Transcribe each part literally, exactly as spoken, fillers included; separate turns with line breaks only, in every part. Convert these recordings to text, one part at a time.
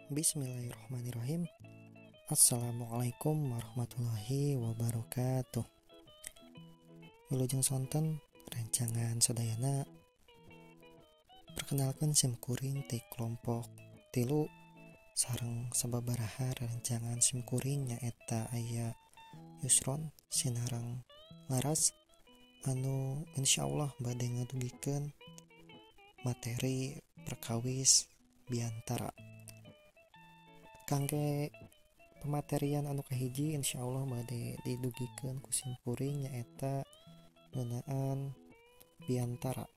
Bismillahirrahmanirrahim. Assalamualaikum warahmatullahi wabarakatuh. Wilujeng sonten rancangan sadayana perkenalkan simkuring ti kelompok tilu sareng sababaraha rancangan simkuring nyaeta aya Yusron Sinarang Laras anu insyaallah bade ngadugikeun materi perkawis biantara. Kangge pematerian anu kahiji insyaallah bade didugikeun ku simkuring nyaeta ngeunaan biantara.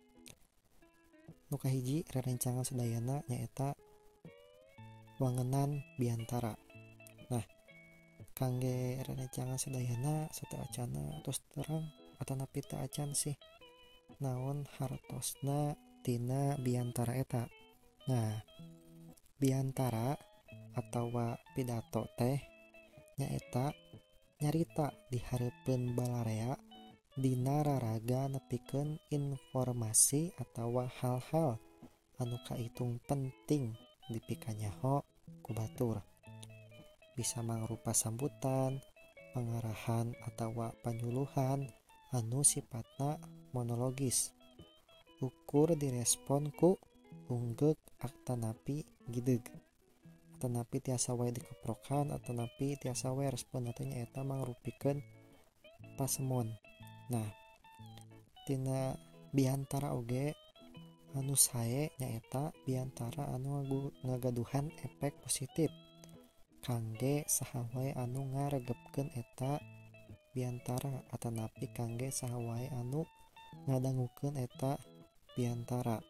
Nu kahiji rerencangan sadayana nyaeta wangenan biantara. Nah, kangge rerencangan sadayana sateuacanna tos terang atanapi teu acan sih naon hartosna tina biantara eta. Nah, biantara atawa pidato teh nyaeta nyarita di hareupeun balarea dina raraga nepikeun informasi atawa hal-hal anu kaitung penting dipikanyaho ku batur. Bisa mangrupa sambutan, pangarahan atawa panyuluhan anu sifatna monologis. Ukur direspon ku unggek atanapi gideug. Atanapi tiasa wae dikeprokan atanapi tiasa wae respon teh nyaeta mangrupikeun pasemon. Nah, tina biantara oge anu sae nyaeta biantara anu ngagaduhan efek positif kangge saha wae anu ngaregepkeun eta biantara atanapi kangge saha wae anu ngadangukeun eta biantara.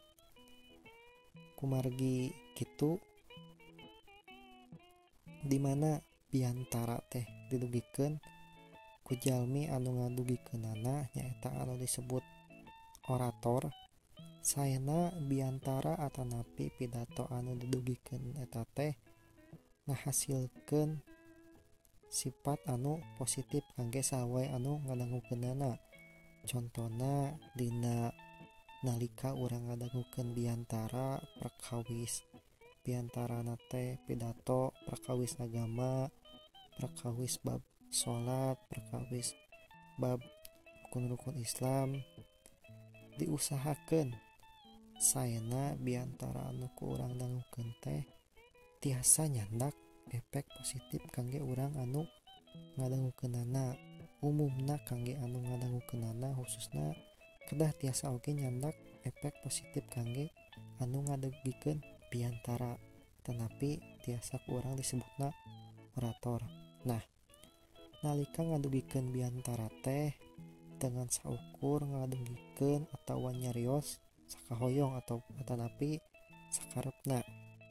Kumargi kitu di mana biantara teh didugikeun ku jalmi anu ngadugikeunana nyaeta anu disebut orator. Saena biantara atanapi pidato anu didugikeun eta teh ngahasilkeun sifat anu positif kangge saha wae anu ngadangukeunana. Contona dina nalika urang ngadangukeun biantara perkawis biantarana teh pidato perkawis agama, perkawis bab salat, perkawis bab rukun-rukun Islam, diusahakeun saena biantara anu ku urang dangukeun teh tiasa nyandak efek positif kangge urang anu ngadangukeunana. Umumna kangge anu ngadangukeunana khususna kedah tiasa oge nyandak efek positif kangge anu ngadugikeun biantara tanapi tiasa ku urang disebutna orator. Nah, nalika ngadugikeun biantara teh dengan saukur ngadugikeun atawa nyarios sakahoyong atau atanapi sakarepna.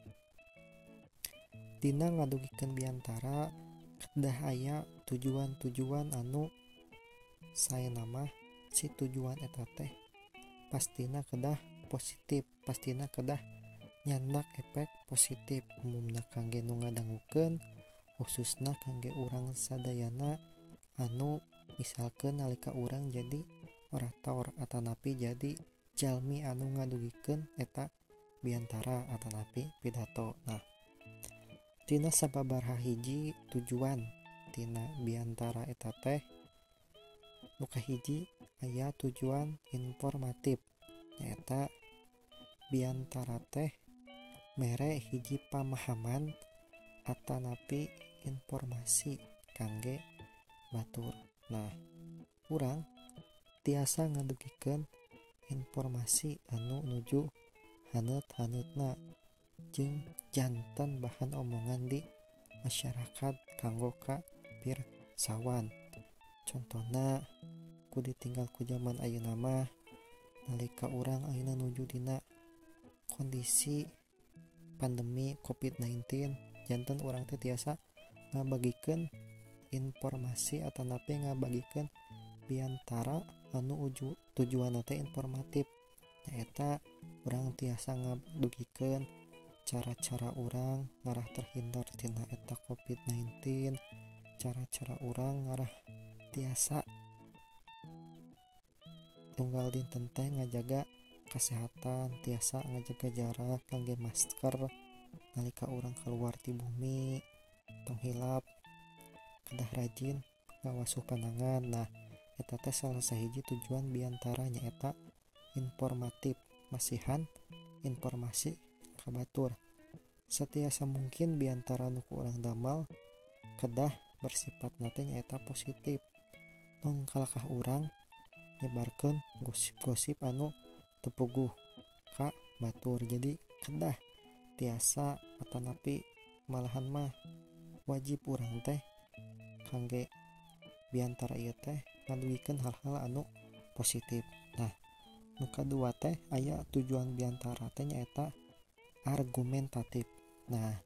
Dina ngadugikeun biantara kedah aya tujuan-tujuan anu saena mah si tujuan eta teh pastina kedah positif, pastina kedah nyandak efek positif. Umumna kangge nu ngadangukeun khususna kangge urang sadayana anu misalkeun nalika urang jadi orator atanapi jadi jalmi anu ngadugikeun eta biantara atanapi pidato. Nah, tina sababaraha hiji tujuan tina biantara eta teh nu kahiji aya tujuan informatif nyaeta biantara teh mere hiji pamahaman atanapi informasi kangge batur. Nah, urang tiasa ngadugikeun informasi anu nuju haneut-haneutna jeung janten bahan omongan di masyarakat kanggo ka pirsawan. Contona ku ditinggal ku zaman ayeuna mah nalika urang ayeuna nuju dina kondisi pandemi covid sembilan belas janten urang teh tiasa ngabagikeun informasi atanapi ngabagikeun biantara anu uju tujuanna teh informatif nyaeta urang tiasa ngabagikeun cara-cara urang ngarah terhindar tina eta covid sembilan belas, cara-cara urang ngarah tiasa tunggal dinten teh ngajaga kesehatan, tiasa ngajaga jarak, kangge masker, nalika urang keluar ti bumi tong hilap kedah rajin ngawasuh panangan. Nah eta teh salah sahiji tujuan biantara nyaeta informatif, masihan informasi ka batur. Satiasa mungkin biantara nu ku urang damal kedah bersifat nate nyaeta positif, tong kalakah urang nyebarkeun gosip-gosip anu teu puguh ka batur. Jadi kedah tiasa atanapi malahan mah wajib urang teh kangge biantara ieu teh ngadugikeun hal-hal anu positif. Nah nu kadua teh aya tujuan biantara teh nyaeta argumentatif. Nah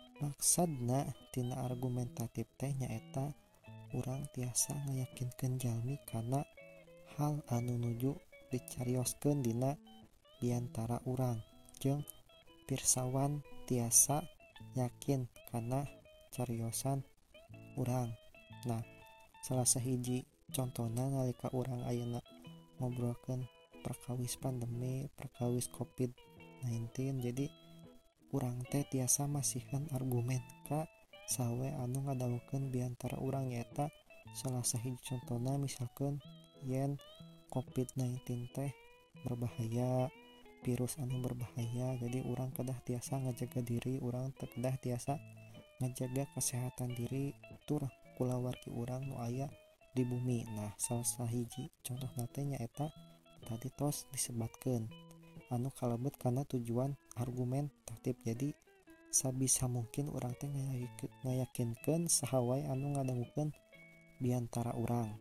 maksadna tina argumentatif teh nyaeta urang tiasa ngayakinkeun jalmi kana hal anu nuju dicarioskeun dina biantara urang, jeung pirsawan tiasa yakin kana cariosan urang. Nah salah sahiji contona nalika urang ayeuna ngobrolkeun perkawis pandemi, perkawis covid sembilan belas, jadi urang teh tiasa masihan argumen ka sawe anu ngadawukeun biantara urang. Nyaeta salah sahiji contona misalkeun yen covid sembilan belas teh berbahaya, virus anu berbahaya, jadi urang kedah tiasa ngajaga diri, urang kedah tiasa ngajaga kesehatan diri tur kulawargi urang nu aya di bumi. Nah salah sahiji contohna teh nyaeta tadi tos disebatkeun anu kalebet kana tujuan argumentatif. Jadi sabisa mungkin urang teh ngayakinkeun saha wae anu ngadangukeun biantara urang,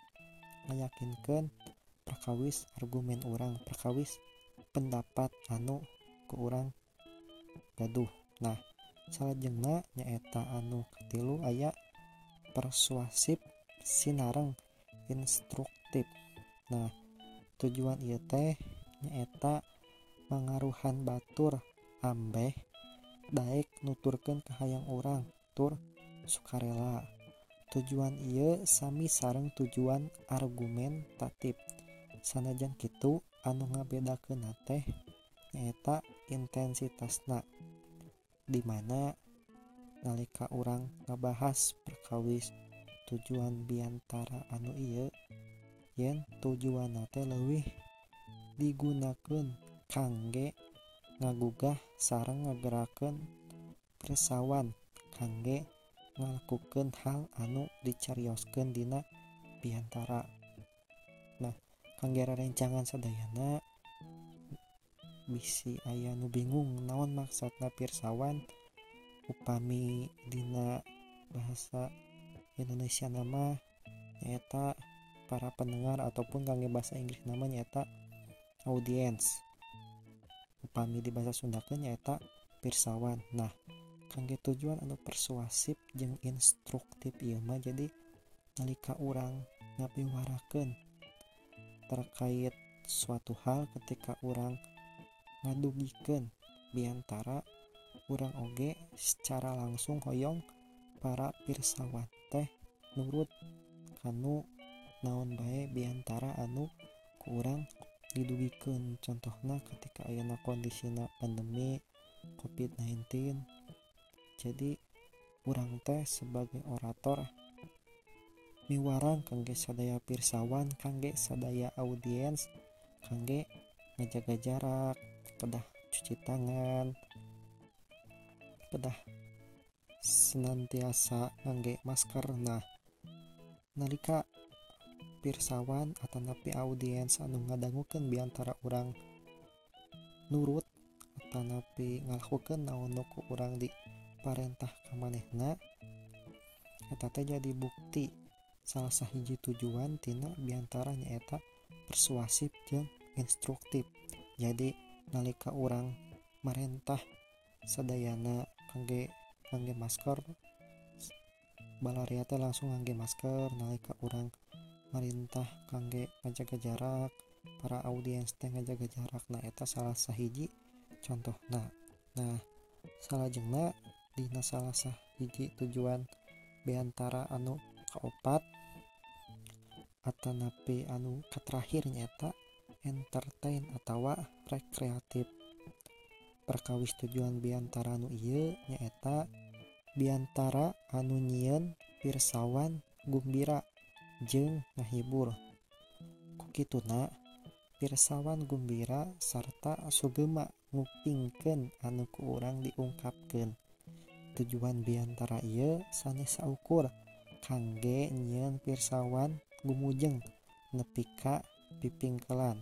ngayakinkeun perkawis argumen urang, perkawis pendapat anu ku urang gaduh. Nah salajengna nyaeta anu katilu aya persuasif sinareng instruktif. Nah tujuan ieu teh nyaeta mangaruhan batur ambeh daek nuturkeun ka hayang urang tur sukarela. Tujuan ieu sami sareng tujuan argumentatif. Sanajan kitu anu ngabedakeunna teh nyaeta intensitasna, dimana nalika urang ngabahas perkawis tujuan biantara anu ieu yen tujuanna teh leuwih digunakeun kangge ngagugah sareng ngagerakeun pirsawan kangge ngalakukeun hal anu dicarioskeun dina biantara. Nah kangge rerencangan sadayana bisi aya nu bingung naon maksudna pirsawan, upami dina bahasa Indonesia nama nyaeta para pendengar, ataupun kangge bahasa Inggris nama nyaeta audience, upami di bahasa Sundakeun nyaeta pirsawan. Nah kangge tujuan anu persuasif jeung instruktif ieu mah jadi nalika urang ngabiwarakeun terkait suatu hal, ketika urang ngadugikeun biantara urang oge secara langsung hoyong para pirsawan teh nurut kanu naon bae biantara anu ku urang didugikeun. Contohna ketika ayeuna kondisina pandemi covid sembilan belas, jadi urang teh sebagai orator miwarang kangge sadaya pirsawan, kangge sadaya audiens, kangge ngajaga jarak, kedah cuci tangan, kedah senantiasa ngangge masker. Nah nalika pirsawan atanapi audiens anu ngadangukeun biantara urang nurut atanapi ngalakukeun naon nu ku urang diparentah ka manehna, eta teh jadi bukti salah sahiji tujuan tina biantara nyaeta persuasif jeung instruktif. Jadi nalika urang marentah sadayana kangge ngangge masker, balaria teh langsung ngangge masker. Nalika urang marintah kangge ngajaga jarak, para audiens teh ngajaga jarak. Nah eta salah sahiji contohna. Nah salajengna dina salah sahiji tujuan beantara anu kaopat atanapi anu katerakhir nyaeta entertain atawa rekreatif. perkawis tujuan biantara anu ieu nyaeta biantara anu nyieun pirsawan gumbira jeung ngahibur. Kukituna pirsawan gumbira sarta sugema ngupingkeun anu ku urang diungkapkeun. Tujuan biantara ieu sanes saukur kangge nyieun pirsawan gumujeng nepi ka pipingkelan.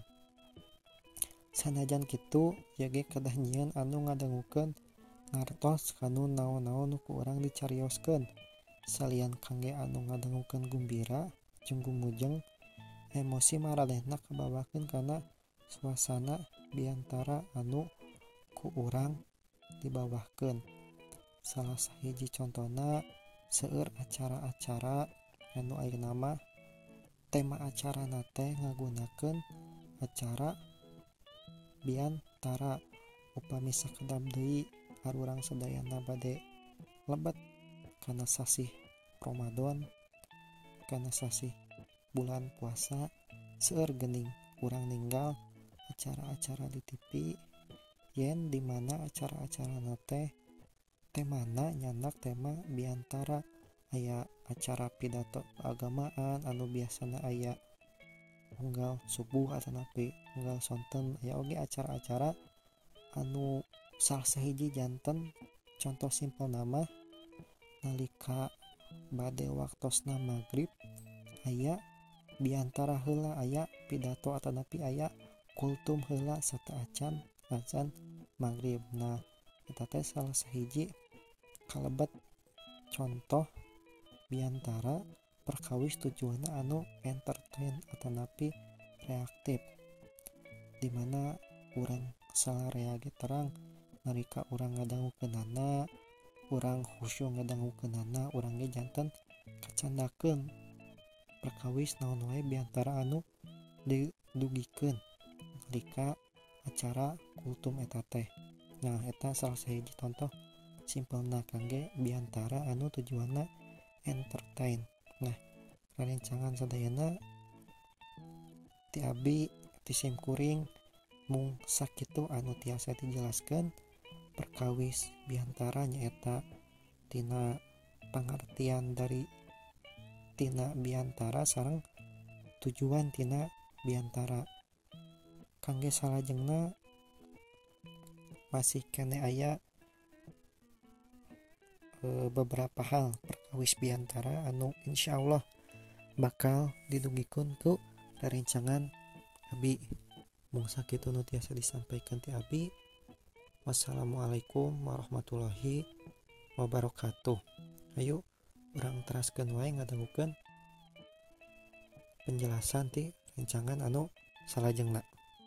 Sanajan kitu ieu ge kedah nyieun anu ngadangukeun ngartos kanu naon-naon nu ku urang dicarioskeun. Salian kangge anu ngadangukeun gumbira jeung gumujeng, emosi maranehna kabawakeun kana suasana biantara anu ku urang dibawahkeun. Salah sahiji contona seueur acara-acara anu ayeuna mah tema acarana teh ngagunakeun acara biantara, upami sakedap deui arurang sadayana bade lebet kana sasih Ramadan, kana sasih bulan puasa, seueur geuning urang ninggal acara-acara di T V yen dimana acara-acarana teh temana nyandak tema biantara. Aya acara pidato keagamaan anu biasana aya unggal subuh atanapi unggal sonten. Aya oge acara-acara anu salah sahiji janten, contoh simpel nama nalika bade waktosna magrib aya biantara heula aya pidato atanapi aya kultum heula sarta acan azan magrib. Nah eta teh salah sahiji kalebet contoh biantara perkawis tujuanna anu entertain atanapi reaktif, dimana urang salarea ge terang nalika urang ngadangukeunana, urang khusyuk ngadangukeunana, urang ge janten kacandakeun perkawis naon wae biantara anu didugikeun nalika acara kultum eta teh. Nah eta salah sahiji contoh simpelna kangge biantara anu tujuanna entertain. Nah rerencangan sadayana ti abi ti simkuring mung sakitu anu tiasa dijelaskeun. Perkawis biantara nyaeta tina pangartian dari tina biantara sareng tujuan tina biantara. Kangge salajengna masih kene aya e, beberapa hal perkawis biantara anu insyaallah bakal didugikeun ku rerencangan abi. Mung sakitu nu tiasa disampaikan ti abi. Wassalamualaikum warahmatullahi wabarakatuh. Ayo urang teraskeun wae ngadangukeun penjelasan ti rencangan anu salajengna.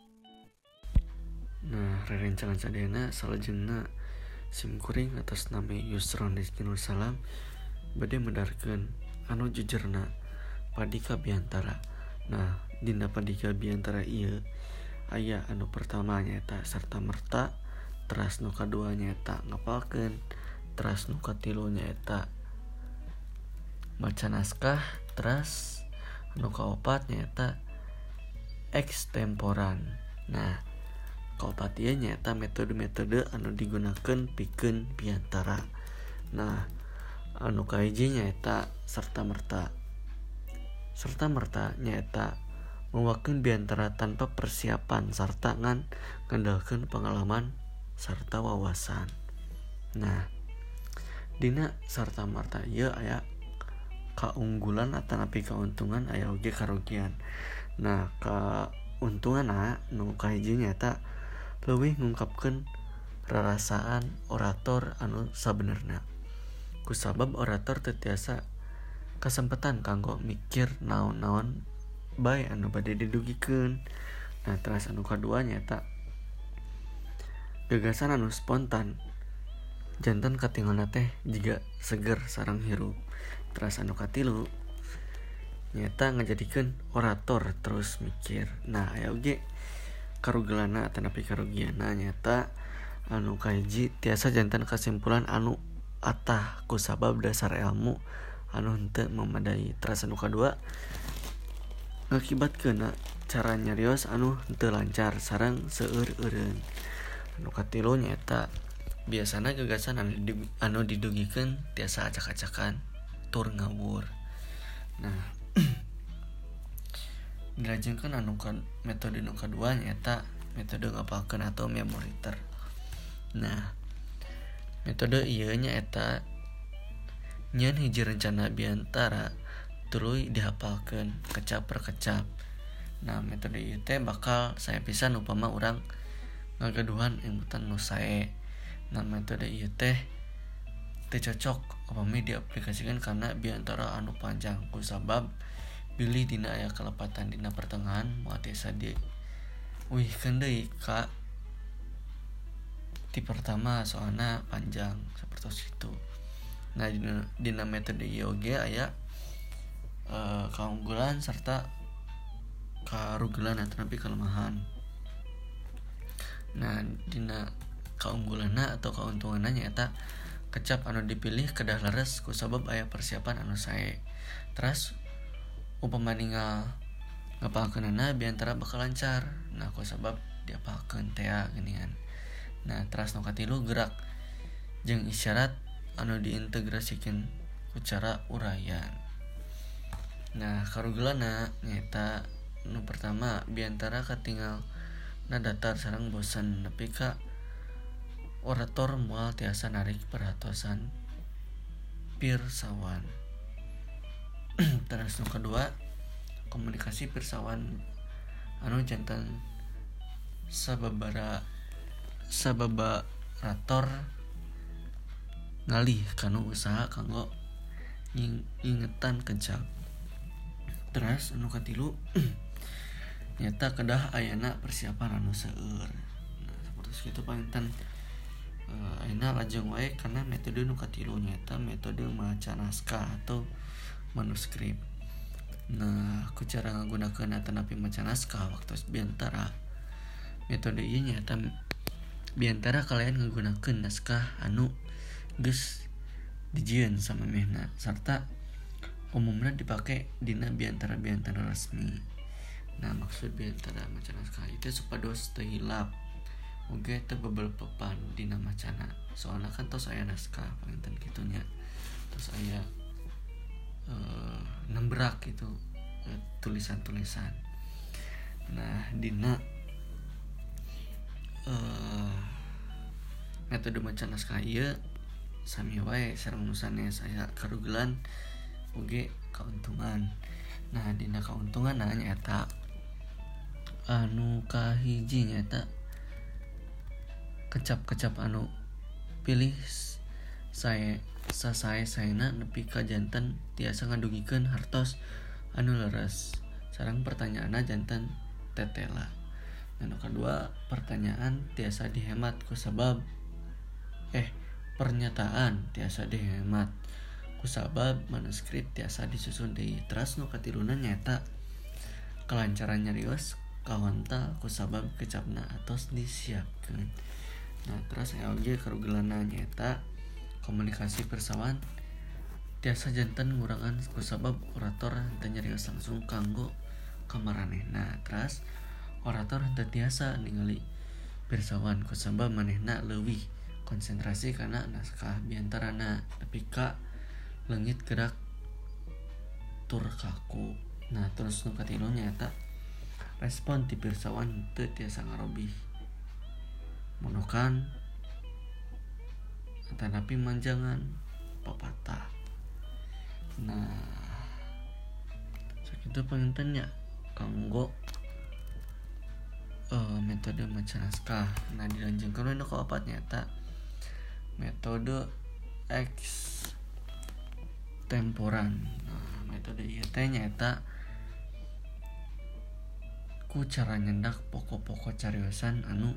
Nah, rerencangan sadayana salajengna simkuring atas nama Yusron Rizky Nur Salam bade medarkeun anu jujerna padika biantara. Nah, dina padika biantara ieu aya anu pertama nyaeta serta merta, teras nu kadua nyaeta ngapalkeun, teras nu katilu nyaeta maca naskah, teras anu kaopat nyaeta ekstemporan. Nah, kaopat ieu nyaeta metode-metode anu digunakeun pikeun biantara. Nah, anu kahiji nyaeta serta merta. Serta merta nyaeta mewakeun biantara tanpa persiapan sarta ngan ngandalkeun pengalaman sarta wawasan. Nah, dina serta merta ieu aya kaunggulan atanapi kauntungan, aya oge karugian. Nah, kauntunganna nu kahiji nyaeta leuwih ngungkapkeun rarasaan orator anu sabenerna. Kusabab orator teu tiasa kasempetan kanggo mikir naon-naon bae anu bade didugikeun. Nah, teras anu kadua nyaeta gagasan anu spontan janten katinggalna teh jiga seger sareng hirup. Teras anu katilu nyaeta ngajadikeun orator terus mikir. Nah, aya oge karugelana atanapi karugianna nyaeta anu kahiji tiasa janten kasimpulan anu atah kusabab dasar ilmu anu henteu memadai. Teras anu kadua ngakibatkeun cara nyarios anu henteu lancar sareng seueur-eureun. anu katilu nyaeta biasana gagasan anu, di, anu didugikeun tiasa acak-acakan tur ngawur. Nah dilajengkeun anu kan metode nu kadua nyaeta metode ngapalkeun atau memoriter. Nah metode ieu nyaeta nyeun hiji rencana biantara tuluy dihafalkeun kecap per kecap. Nah metode ieu teh bakal saya pisan upama urang ngagaduhan imbutan nu sae. Nah metode ieu teh teu cocok upami diaplikasikeun kana biantara anu panjang kusabab bilih dina aya kalepatan dina pertengahan moal tiasa di uihkeun deui ka ti pertama soalna panjang sapertos itu. Nah dina, dina metode ieu ge aya e, kaunggulan serta karugilan atau napi kelemahan. Nah dina kaunggulanna atau kauntunganna nyaeta kecap anu dipilih kedah leres kusabab aya persiapan anu sae. Terus upama ninggal ngapalkeunana biantara bakal lancar. Nah kusabab diapalkeun teh geuningan. Nah terus nu katilu gerak jeung isyarat anu diintegrasikeun ku cara uraian. Nah karugilanna nyaeta nu pertama biantara katinggal na datar sareng bosan nepi ka orator moal tiasa narik perhatosan pirsawan. Terus nu kedua komunikasi pirsawan anu janten sababara sababarator ngalih kanu usaha kanggo ingetan kecap. Terus anu katilu nyata kedah ayana persiapan anu seueur. Nah saperti kitu panginten uh, ayeuna lajeng wae karena metode nu katilu nyata metode maca naskah atau manuskrip. Nah ku cara ngagunakeun atanapi maca naskah waktu biantara metode ieu nyata biantara kalian ngagunakeun naskah anu geus dijieun samemehna sarta umumna dipake dina biantara-biantara resmi. Nah maksud biantara maca naskah itu supados teu hilap oge teu bebel-bepan dina macana. Soalna kan tos aya naskah panginten kitu nya. Terus aya uh, nembrak gitu uh, tulisan-tulisan. Nah dina uh, metode maca naskah ieu sami wae sareng nu sanes aya karugilan oge kauntungan. Nah dina kauntungan nah nyaeta anu kahiji nyaeta kecap-kecap anu pilih sae sasae saena nepi ka janten tiasa ngadugikeun hartos anu leres sareng pertanyaanna janten tetela. Anu kedua pertanyaan tiasa dihemat kusabab eh pernyataan tiasa dihemat kusabab manuskrip tiasa disusun deui. Terus nu katiluna nyaeta kelancaran nyarios kawantal kusabab kecapna atos disiapkeun. Nah terus aya oge karugilanna nyaeta komunikasi pirsawan tiasa janten ngurangan kusabab orator henteu nyarios langsung kanggo kamaranehna. Terus orator henteu tiasa ningali pirsawan kusabab manehna leuwih konsentrasi kana naskah biantarana nepi ka leungit gerak tur kaku. Nah terus nu katilu nyaeta respon ti pirsawan teu tiasa ngarobih monokan atanapi manjangan papatah. Nah sakitu pangintennya kanggo uh, metode maca naskah. Nah dilanjutkeun we nu kaopat nyaeta metode extemporan. Nah metode ieu teh nyaeta ku cara nyendak pokok-pokok cariosan anu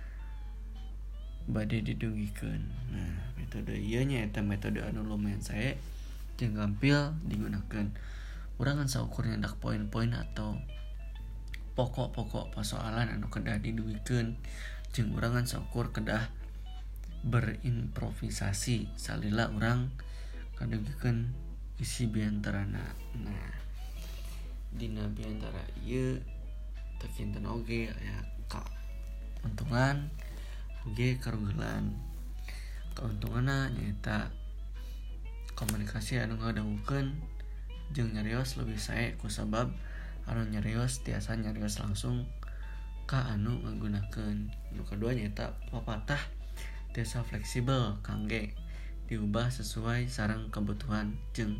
bade didugikeun. Nah metode ieu nyaeta metode anu lumayan sae jeung gampil digunakeun. Urang kan saukur nyendak poin-poin atau pokok-pokok persoalan anu kedah didugikeun jeung urang kan saukur kedah berimprovisasi salila urang kadugikeun isi biantarana. Nah dina biantara ieu teu kinten oge aya kauntungan oge karugelan. Keuntunganna nyaeta komunikasi anu ngadangukeun jeung nyarios leuwih sae kusabab anu nyarios tiasa nyarios langsung ka anu ngagunakeun. Nu kadua nyaeta papatah tiasa fleksibel kangge diubah sesuai sareng kebutuhan jeung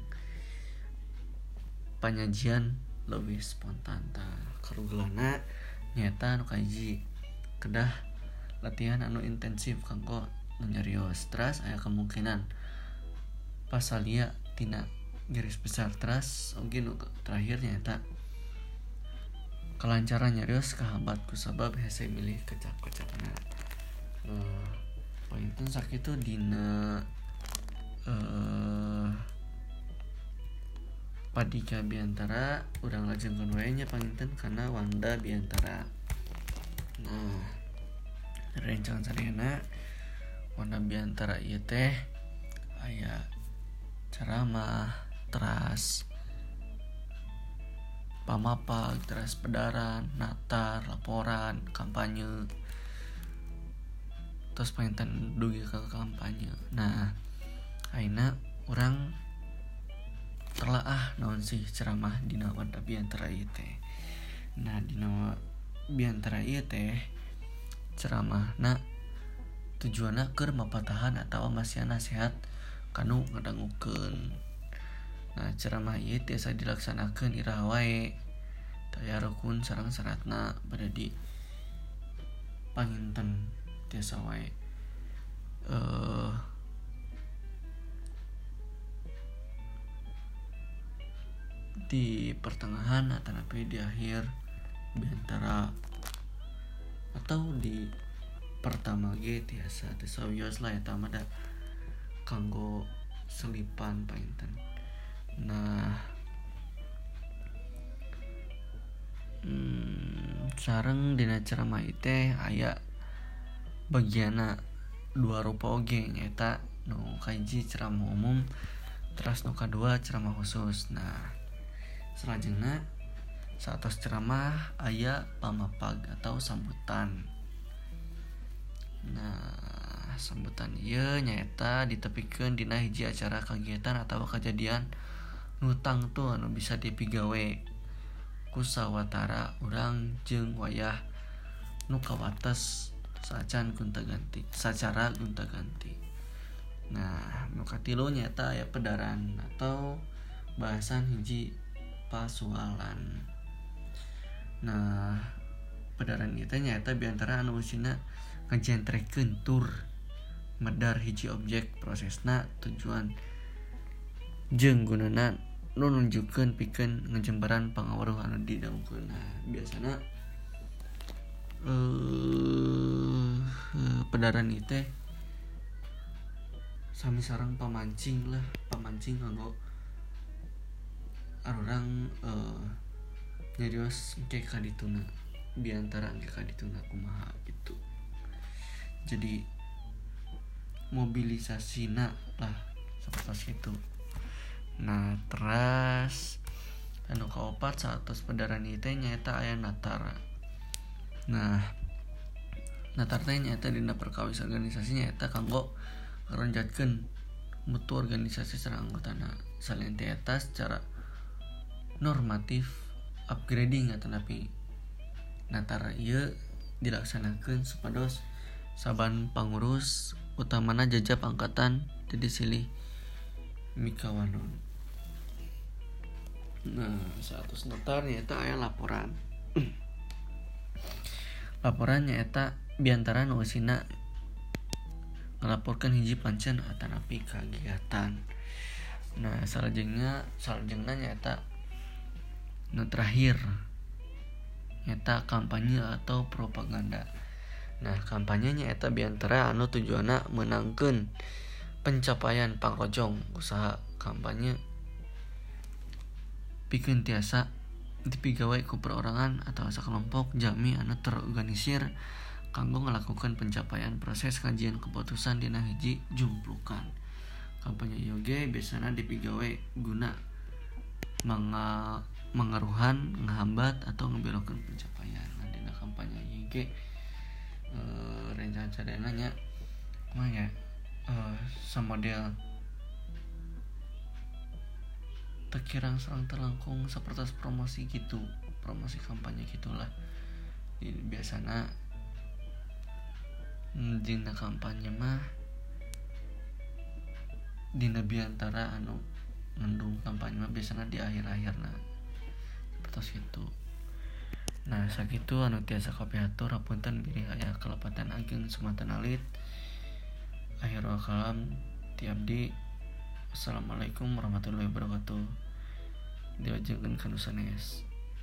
panyajian leuwih spontan. Tah karugelana nyaeta anu kahiji kedah latihan anu intensif kanggo nu nyarios. Teras aya kemungkinan pasalia tina garis besar. Teras oge nu terakhir nyaeta kelancaran nyarios kahambat kusabab hese milih kecap-kecapna. Uh, Painten sakitu dina uh, Padika Biantara urang lajengkeun wae nya panginten kana Wanda Biantara. Nah, rencana sadayana Wanda Biantara ieu teh aya ceramah, teras pamapag, teras pedaran, natar, laporan, kampanye. Terus panginten dugi ke kampanye. Nah, ayeuna urang telaah naon sih ceramah dina Wanda Biantara ieu teh. Nah, dina Biantara ieu teh ceramahna tujuanna keur mapatahan atawa masih nasihat kanu ngadangukeun. Nah, ceramah ieu tiasa dilaksanakeun iraha wae. Taya rukun sareng syaratna bade di panginten tiasa wae. Uh, di pertengahan atau napi di akhir Biantara atau di pertama ge tiasa teu sawios lah eta mah da kanggo selipan painten. Nah, hmm, sareng dina ceramah ieu teh aya bagianna dua rupa oge nyaeta nu kahiji ceramah umum, teras nu kadua ceramah khusus. Nah, salajengna satos ceramah aya pamapag atau sambutan. Nah, sambutan ieu nyaeta ditepikeun dina hiji acara kagiatan atawa kejadian nu tangtu anu bisa dipigawe ku sawatara urang jeung wayah nu kawates sacan gonta-ganti sacara gonta-ganti. Nah, nu katilu nyaeta aya pedaran atau bahasan hiji pasualan. Nah, pedaran ieu teh nyaeta biantara anu usina ngajentrekeun tur medar hiji objek, prosesna, tujuan jeung gunana nu nunjukkeun pikeun ngajembaran pangaweruh anu didangukeun. Nah, biasana uh, pedaran ieu teh sami sareng pamancing lah, pamancing kanggo arurang uh, nyarios engke ka dituna biantara engke ka dituna kumaha gitu. Jadi mobilisasina lah sapertos kitu. Nah, teras anu kaopat satos pedaran ieu teh nyaeta aya natar. Nah, natar teh nyaeta dina perkawis organisasi nyaeta kanggo ngaronjatkeun mutu organisasi sareng anggotana. Selain teh eta secara normatif upgrading atanapi natar ieu dilaksanakeun supados saban pangurus utamana jajab angkatan teu disilih mikawanon. Nah, satus natar nyaeta aya laporan. Laporan nyaeta biantara nu usina ngalaporkeun hiji pancen atanapi kagiatan. Nah, salajengna salajengna nyaeta nu terakhir nyaeta kampanye atau propaganda. Nah, kampanye nyaeta biantara anu tujuanna meunangkeun pencapaian pangrojong usaha kampanye pikeun tiasa dipigawe ku perorangan atau sakelompok jami anu terorganisir kanggo ngalakukeun pencapaian proses kajian keputusan dina hiji jumplukan. Kampanye ieu ge biasana dipigawe guna manga mengaruhan, ngehambat atau ngebelokkeun pencapaian. Nah, dina kampanye ieu ge uh, rencana sadayana nya mah ya uh, samodel tekirang serang terlangkung seperti promosi gitu, promosi kampanye gitulah. Jadi biasanya dina kampanye mah dina biantara anu ngandung kampanye mah biasanya di akhir-akhir nah seperti itu. Nah sakitu anu tiasa kapiatur hapunten bilih aya kelepatan ageng sumatan alit. Akhirul kalam ti abdi. Assalamualaikum warahmatullahi wabarakatuh. Diajengkeun kana sanes.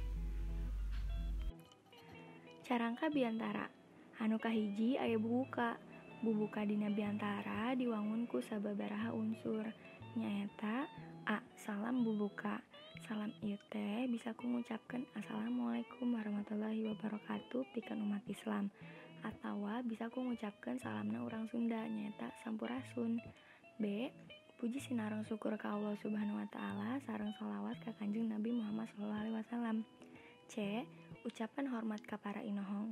Carangka biantara anu kahiji aya bubuka. Bubuka dina biantara diwangun ku sababaraha unsur nyaeta a. Salam bubuka. Salam ieu teh bisa ku ngucapkeun assalamualaikum warahmatullahi wabarakatuh pikeun umat Islam, atawa bisa ku ngucapkeun salamna urang Sunda nyaeta sampurasun. B. Puji sinareng syukur ka Allah Subhanahu wa taala sareng shalawat ka Kanjeng Nabi Muhammad sallallahu alaihi wasallam. C. Ucapan hormat ka para inohong.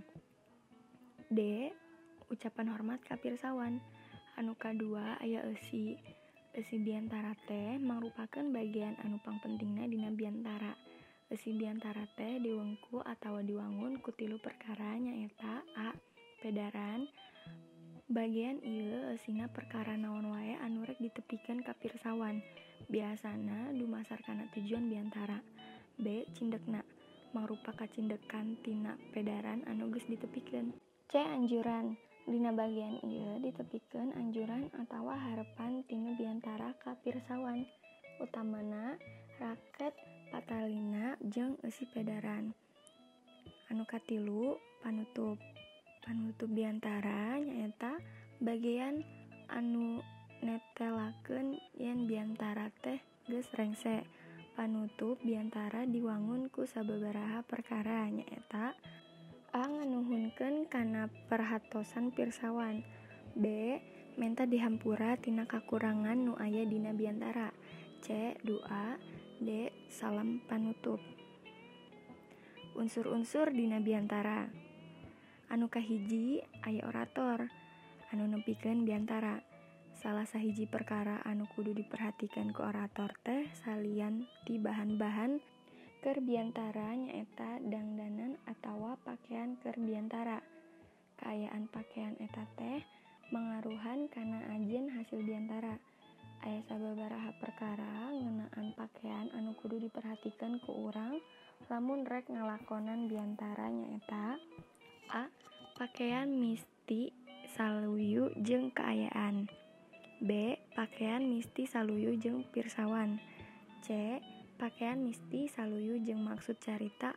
D. Ucapan hormat ka pirsawan. Anu kadua aya eusi. Eusi biantara teh mangrupakeun bagian anu pangpentingna dina biantara. Eusi biantara teh diwengku atawa diwangun ku tilu perkara nyaeta a. Pedaran. Bagian ieu eusina perkara naon wae anu rek ditepikeun ka pirsawan. Biasana dumasar kana tujuan biantara. B. Cindekna. Mangrupa kacindekan tina pedaran anu geus ditepikeun. C. Anjuran. Dina bagian ieu ditepikeun anjuran atawa harepan tina biantara ka pirsawan. Utamana raket patalina jeung eusi pedaran. Anu katilu panutup. Panutup biantara nyaeta bagian anu netelakeun yen biantara teh geus rengse. Panutup biantara diwangun ku sababaraha perkara nyaeta a. Nganuhunkeun kana perhatosan pirsawan. B. Menta dihampura tina kakurangan nu aya dina biantara. C. Doa. D. Salam panutup. Unsur-unsur dina biantara. Anu kahiji aya orator anu nepikeun biantara. Salah sahiji perkara anu kudu diperhatikeun ku orator teh salian ti bahan-bahan keur biantara nyaeta dangdanan atawa pakaian keur biantara. Kaayaan pakaian eta teh mangaruhan kana ajeun hasil biantara. Aya sababaraha perkara ngeunaan pakaian anu kudu diperhatikeun ku urang lamun rek ngalakonan biantara nyaeta a. Pakaian misti saluyu jeung kaayaan. B. Pakaian misti saluyu jeung pirsawan. C. Pakaian misti saluyu jeung maksud carita.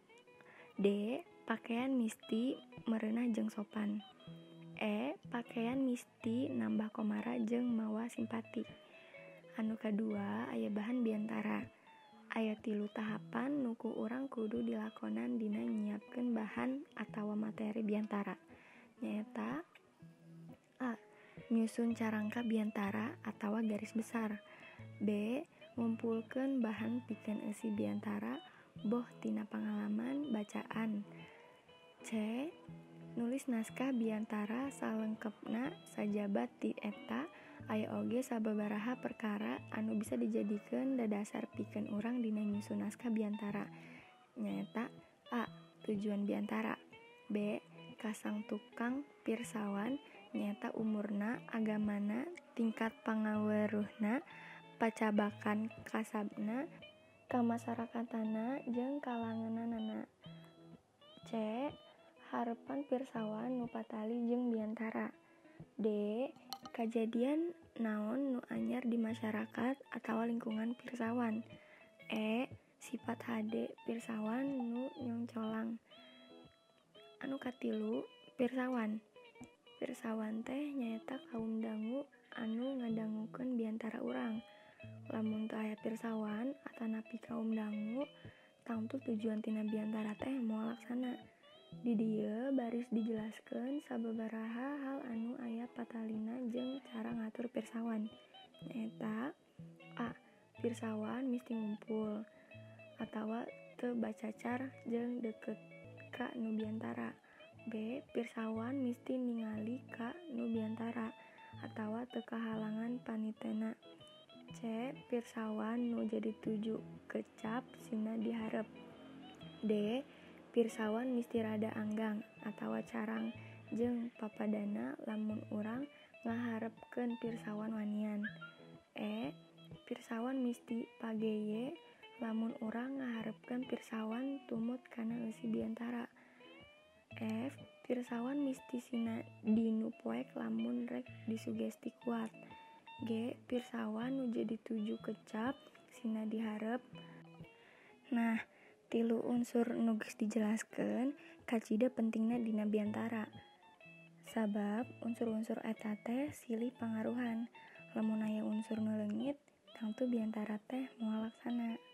D. Pakaian misti merenah jeung sopan. E. Pakaian misti nambah komara jeung mawa simpati. Anu kadua aya bahan biantara. Aya tilu tahapan nuku urang kudu dilakonan dina nyiapkeun bahan atawa materi biantara. Nyaeta a. Nyusun carangka biantara atawa garis besar. B. Ngumpulkeun bahan pikeun eusi biantara boh tina pangalaman bacaan. C. Nulis naskah biantara salengkepna sajabat ti eta. Aya oge sababaraha perkara anu bisa dijadikeun dadasar pikeun urang dina nyusun naskah biantara. Nyaeta a. Tujuan biantara. B. Kasang tukang pirsawan nyaeta umurna, agamana, tingkat pangaweruhna, pacabakan kasabna, kamasyarakatana jeung kalanganana. C. Harepan pirsawan nu patali jeung biantara. D. Kajadian naon nu anyar di masyarakat atawa lingkungan pirsawan. E. Sifat hade pirsawan nu nyongcolang. Anu katilu pirsawan. Pirsawan teh nyaeta kaum dangu anu ngadangukeun biantara urang. Lamun teu aya pirsawan atanapi kaum dangu, tangtu tujuan tina biantara teh moal laksana. Di dieu baris dijelaskeun sababaraha hal anu aya patalina jeung cara ngatur pirsawan. Nyaeta a. Pirsawan misti ngumpul atawa teu bacacar jeung deukeut ka nu biantara. B. Pirsawan misti ningali ka nu biantara atawa teu kahalangan panitena. C. Pirsawan nu jadi tuju kecap sina diharep. D. Pirsawan misti rada anggang atawa carang jeung papadana lamun urang ngaharepkeun pirsawan wanian. E. Pirsawan misti pageye lamun urang ngaharepkeun pirsawan tumut kana eusi biantara. F. Pirsawan misti sina dinu poek lamun rek disugesti kuat. G. Pirsawan nu jadi tuju kecap sina diharep. Nah, tilu unsur nu geus dijelaskeun kacida pentingna dina biantara. Sabab unsur-unsur eta teh silih pangaruhan. Lamun aya unsur nu leungit, tangtu biantara teh moal laksana.